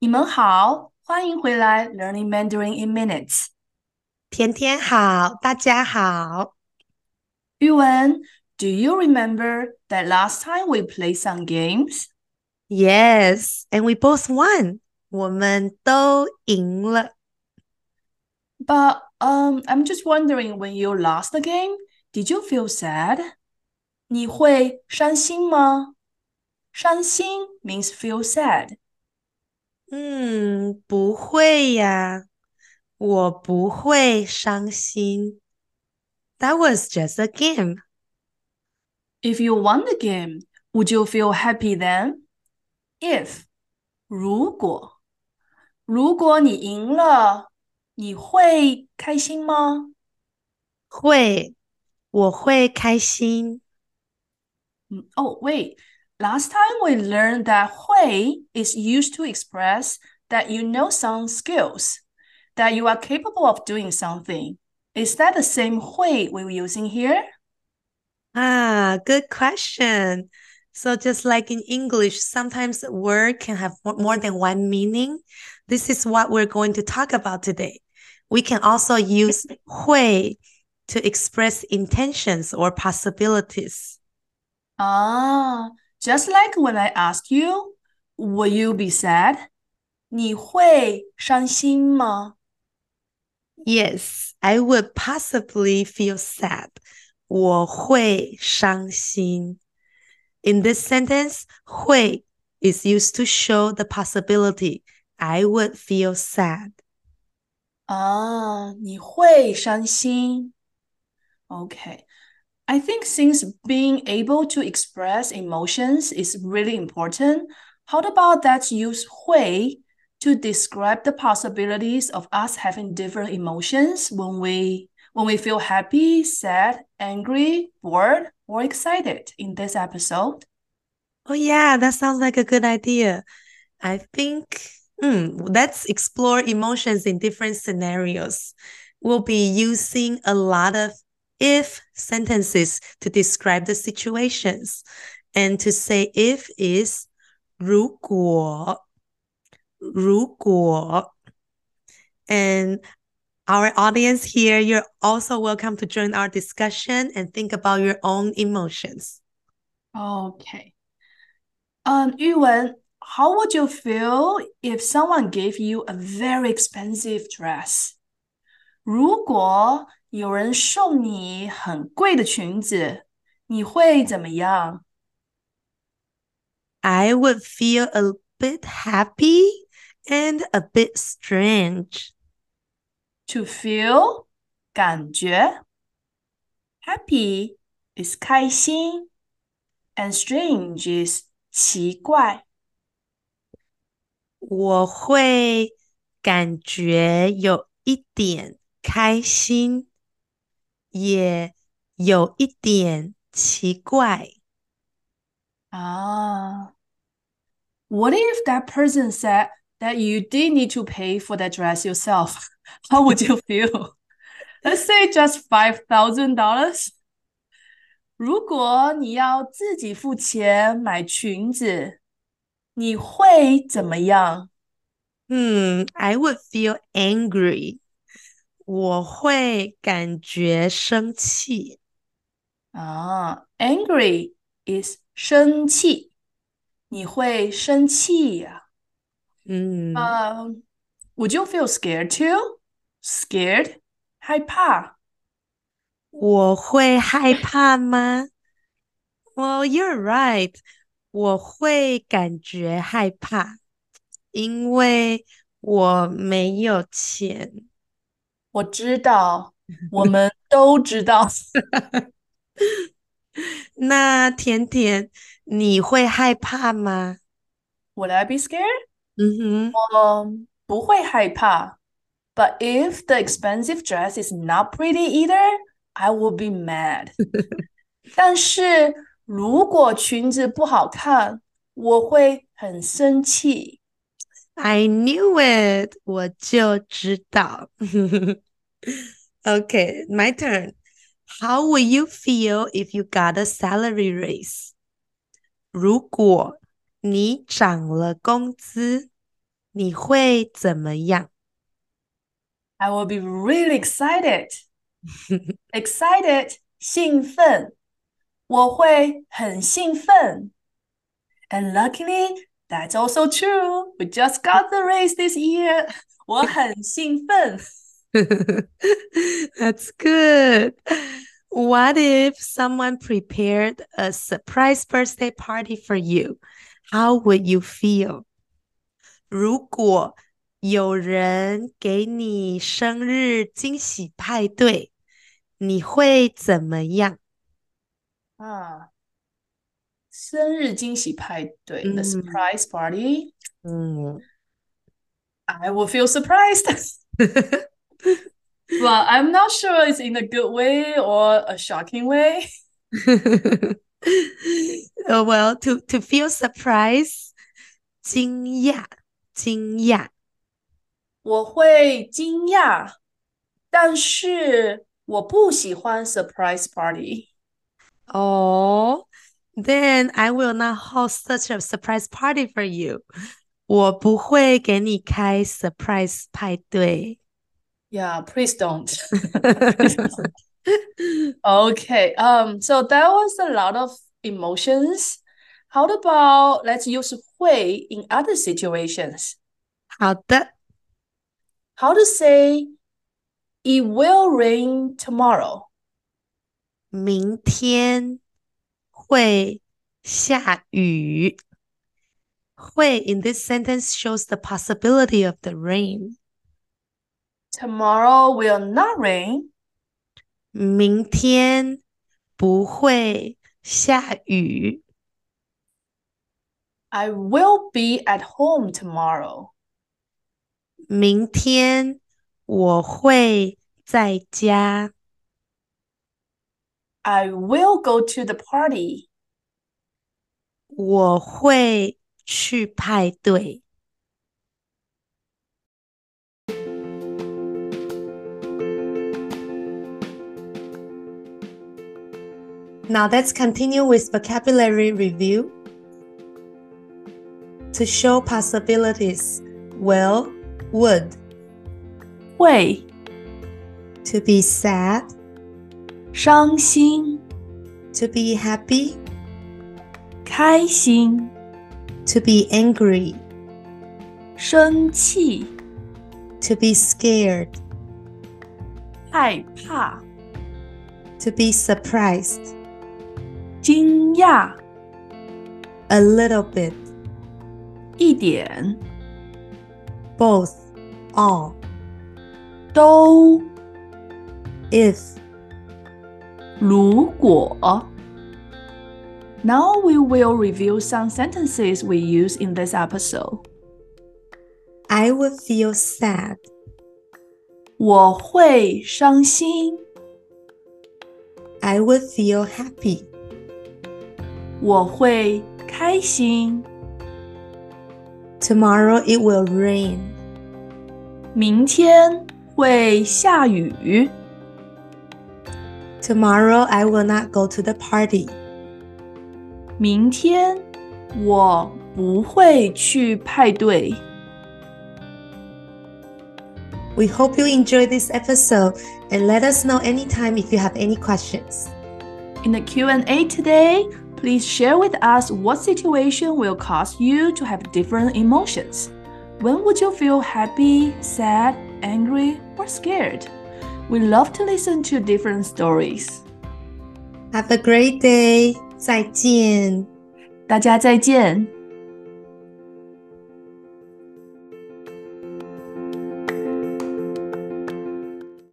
你们好，欢迎回来，Learning Mandarin in Minutes。 天天好，大家好。 玉文，Do you remember that last time we played some games? Yes, and we both won. 我们都赢了。 But I'm just wondering, when you lost the game, did you feel sad? 你会伤心吗？伤心 means feel sad. 不会呀，我不会伤心。That was just a game. If you won the game, would you feel happy then? If 如果你赢了，你会开心吗？ 会，我会开心。 Oh, wait. Last time we learned that 会 is used to express that you know some skills, that you are capable of doing something. Is that the same 会 we were using here? Good question. So just like in English, sometimes a word can have more than one meaning. This is what we're going to talk about today. We can also use 会 to express intentions or possibilities. Ah, just like when I asked you, will you be sad? 你会伤心吗？ Yes, I would possibly feel sad. 我会伤心. In this sentence, 会 is used to show the possibility. I would feel sad. 啊，你会伤心。Okay. I think since being able to express emotions is really important, how about that use 会 to describe the possibilities of us having different emotions when we feel happy, sad, angry, bored, or excited in this episode? Oh, yeah, that sounds like a good idea. I think let's explore emotions in different scenarios. We'll be using a lot of if sentences to describe the situations. And to say if is 如果. And our audience here, you're also welcome to join our discussion and think about your own emotions. Okay. 玉文, how would you feel if someone gave you a very expensive dress? 如果有人送你很贵的裙子，你会怎么样 I would feel a bit happy and a bit strange. ？To feel 感觉，happy is 开心，and strange is 奇怪。 我会感觉有一点开心，也有一点奇怪。 啊，what if that person said that you did need to pay for that dress yourself? How would you feel? Let's say just $5,000. 如果你要自己付钱买裙子，你会怎么样？ I would feel angry. 我会感觉生气。 啊，angry is 生气，你会生气呀、 嗯， would you feel scared too? Scared? 害怕。 我会害怕吗？Well, you're right. 我会感觉害怕，因为我没有钱。 我知道，我们都知道。 那甜甜，你会害怕吗？ Would I be scared? 嗯哼， 不会害怕。But if the expensive dress is not pretty either, I will be mad. 但是如果裙子不好看，我会很生气。 I knew it. 我就知道。Okay, my turn. How will you feel if you got a salary raise? 如果你涨了工资， 你会怎么样？ I will be really excited. Excited, 兴奋，我会很兴奋。And luckily, that's also true. We just got the race this year. 我很兴奋。 That's good. What if someone prepared a surprise birthday party for you? How would you feel? 如果有人给你生日惊喜派对，你会怎么样？ 啊，生日惊喜派对，the 嗯 surprise party. 嗯 I will feel surprised. But I'm not sure it's in a good way or a shocking way. Oh, well, to feel surprise, 惊讶，惊讶。 我会惊讶，但是我不喜欢 surprise party。 Oh, then I will not host such a surprise party for you. 我不会给你开 surprise 派对。 Yeah, please don't. Please don't. Okay. So that was a lot of emotions. How about let's use 会 in other situations? 好的， How to say it will rain tomorrow? 明天会下雨。会 in this sentence shows the possibility of the rain. Tomorrow will not rain. 明天不会下雨。 I will be at home tomorrow. 明天我会在家。 I will go to the party. 我会去派对。Now let's continue with vocabulary review. To show possibilities, will, would. 会 To be sad, 伤心 to be happy, 开心 to be angry, 生气 to be scared, 害怕 to be surprised, 惊讶 a little bit, 一点 both, all, 都 if. 如果 Now we will review some sentences we use in this episode. I would feel sad. 我会伤心 I would feel happy. 我会开心 Tomorrow it will rain. 明天会下雨 Tomorrow I will not go to the party. 明天我不会去派对 We hope you enjoyed this episode and let us know anytime if you have any questions. In the Q&A today, please share with us what situation will cause you to have different emotions. When would you feel happy, sad, angry, or scared? We love to listen to different stories. Have a great day. 再见。 大家再见。